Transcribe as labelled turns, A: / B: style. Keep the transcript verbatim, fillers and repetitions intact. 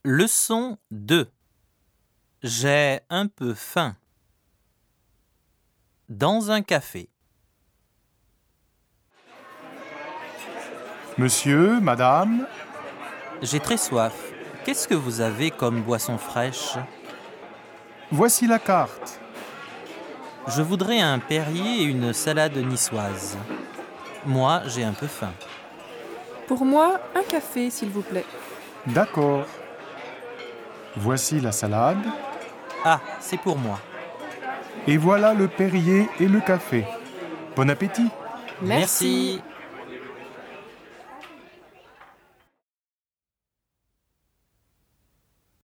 A: Leçon deux. J'ai un peu faim. Dans un café.
B: Monsieur, madame,
A: J'ai très soif. Qu'est-ce que vous avez comme boisson fraîche?
B: voici la carte.
A: Je voudrais un Perrier et une salade niçoise. Moi, j'ai un peu faim.
C: Pour moi, un café, s'il vous plaît.
B: D'accord. Voici la salade.
A: Ah, c'est pour moi.
B: Et voilà le Perrier et le café. Bon appétit.
A: Merci.